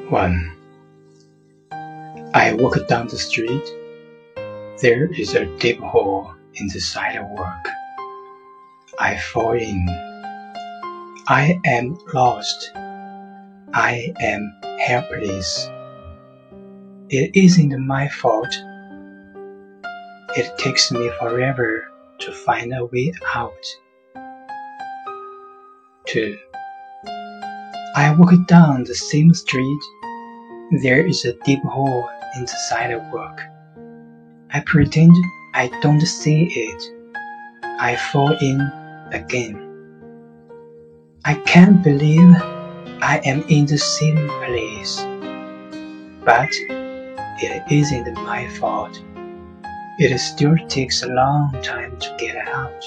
1. I walk down the street. There is a deep hole in the sidewalk. I fall in. I am lost. I am helpless. It isn't my fault. It takes me forever to find a way out. 2. I walk down the same street. There is a deep hole in the sidewalk. I pretend I don't see it. I fall in again. I can't believe I am in the same place. But it isn't my fault. It still takes a long time to get out.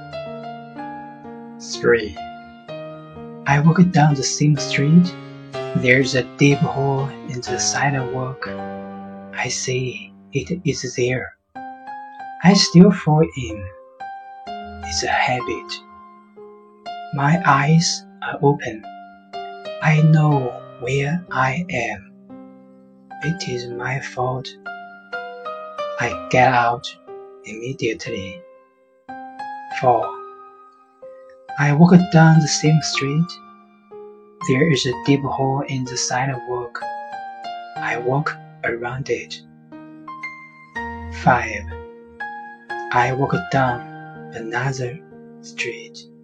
3. I walk down the same street. There's a deep hole in the sidewalk. I see it is there. I still fall in. It's a habit. My eyes are open. I know where I am. It is my fault. I get out immediately. 4. I walk down the same street. There is a deep hole in the sidewalk. I walk around it. 5. I walk down another street.